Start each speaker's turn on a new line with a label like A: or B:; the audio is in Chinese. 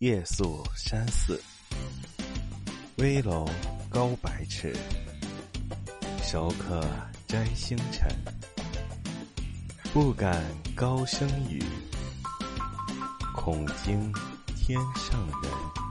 A: 夜宿山寺，危楼高百尺，手可摘星辰。不敢高声语，恐惊天上人。